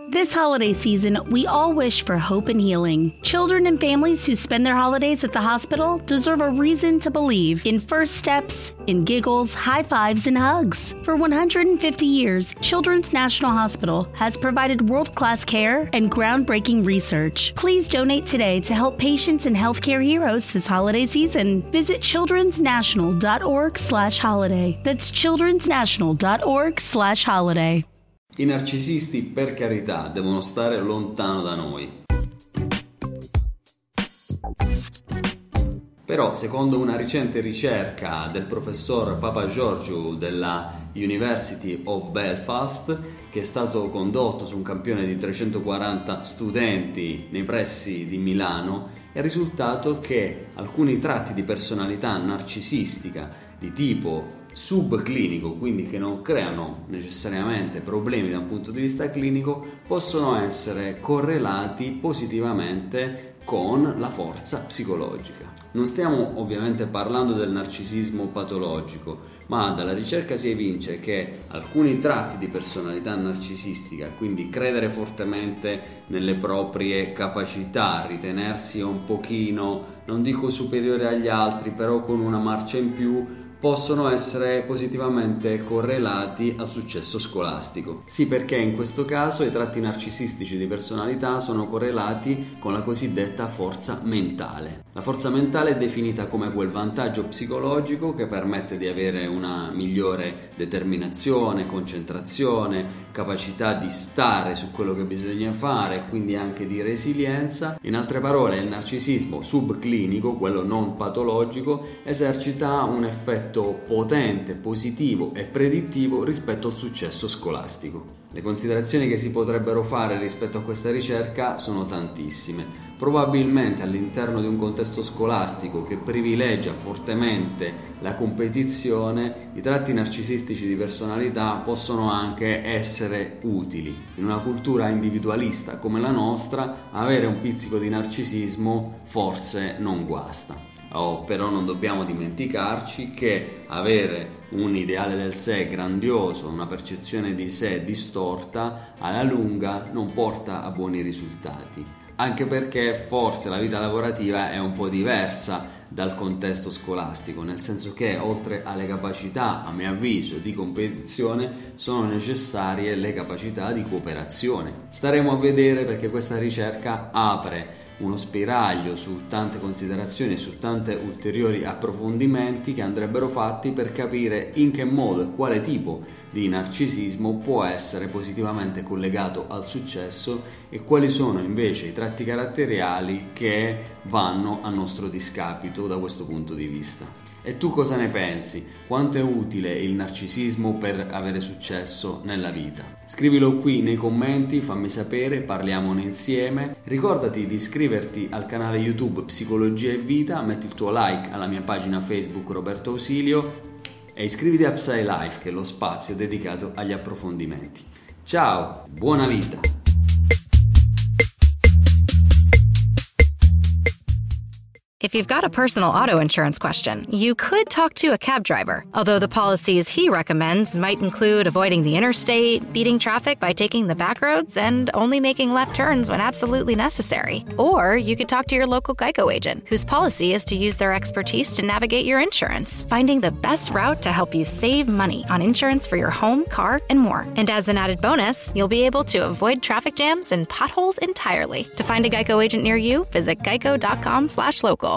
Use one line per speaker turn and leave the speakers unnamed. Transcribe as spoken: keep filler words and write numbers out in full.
This holiday season, we all wish for hope and healing. Children and families who spend their holidays at the hospital deserve a reason to believe in first steps, in giggles, high fives, and hugs. For one hundred fifty years, Children's National Hospital has provided world-class care and groundbreaking research. Please donate today to help patients and healthcare heroes this holiday season. Visit childrensnational.org slash holiday. That's childrensnational.org slash holiday.
I narcisisti, per carità, devono stare lontano da noi. Però, secondo una recente ricerca del professor Papageorgiou della University of Belfast, che è stato condotto su un campione di trecentoquaranta studenti nei pressi di Milano, è risultato che alcuni tratti di personalità narcisistica di tipo subclinico, quindi che non creano necessariamente problemi da un punto di vista clinico, possono essere correlati positivamente con la forza psicologica. Non stiamo ovviamente parlando del narcisismo patologico, ma dalla ricerca si evince che alcuni tratti di personalità narcisistica, quindi credere fortemente nelle proprie capacità, ritenersi un pochino, non dico superiore agli altri, però con una marcia in più, possono essere positivamente correlati al successo scolastico. Sì, perché in questo caso i tratti narcisistici di personalità sono correlati con la cosiddetta forza mentale. La forza mentale è definita come quel vantaggio psicologico che permette di avere una migliore determinazione, concentrazione, capacità di stare su quello che bisogna fare, quindi anche di resilienza. In altre parole, il narcisismo subclinico, quello non patologico, esercita un effetto potente, positivo e predittivo rispetto al successo scolastico. Le considerazioni che si potrebbero fare rispetto a questa ricerca sono tantissime. Probabilmente all'interno di un contesto scolastico che privilegia fortemente la competizione, i tratti narcisistici di personalità possono anche essere utili. In una cultura individualista come la nostra, avere un pizzico di narcisismo forse non guasta. Oh, però non dobbiamo dimenticarci che avere un ideale del sé grandioso, una percezione di sé distorta, alla lunga non porta a buoni risultati. Anche perché forse la vita lavorativa è un po' diversa dal contesto scolastico, nel senso che oltre alle capacità, a mio avviso, di competizione, sono necessarie le capacità di cooperazione. Staremo a vedere, perché questa ricerca apre uno spiraglio su tante considerazioni e su tanti ulteriori approfondimenti che andrebbero fatti per capire in che modo e quale tipo di narcisismo può essere positivamente collegato al successo e quali sono invece i tratti caratteriali che vanno a nostro discapito da questo punto di vista. E tu cosa ne pensi? Quanto è utile il narcisismo per avere successo nella vita? Scrivilo qui nei commenti, fammi sapere, parliamone insieme. Ricordati di iscriverti al canale YouTube Psicologia e Vita, metti il tuo like alla mia pagina Facebook Roberto Ausilio e iscriviti a PsyLife, che è lo spazio dedicato agli approfondimenti. Ciao, buona vita!
If you've got a personal auto insurance question, you could talk to a cab driver, although the policies he recommends might include avoiding the interstate, beating traffic by taking the back roads, and only making left turns when absolutely necessary. Or you could talk to your local Geico agent, whose policy is to use their expertise to navigate your insurance, finding the best route to help you save money on insurance for your home, car, and more. And as an added bonus, you'll be able to avoid traffic jams and potholes entirely. To find a Geico agent near you, visit geico dot com slash local.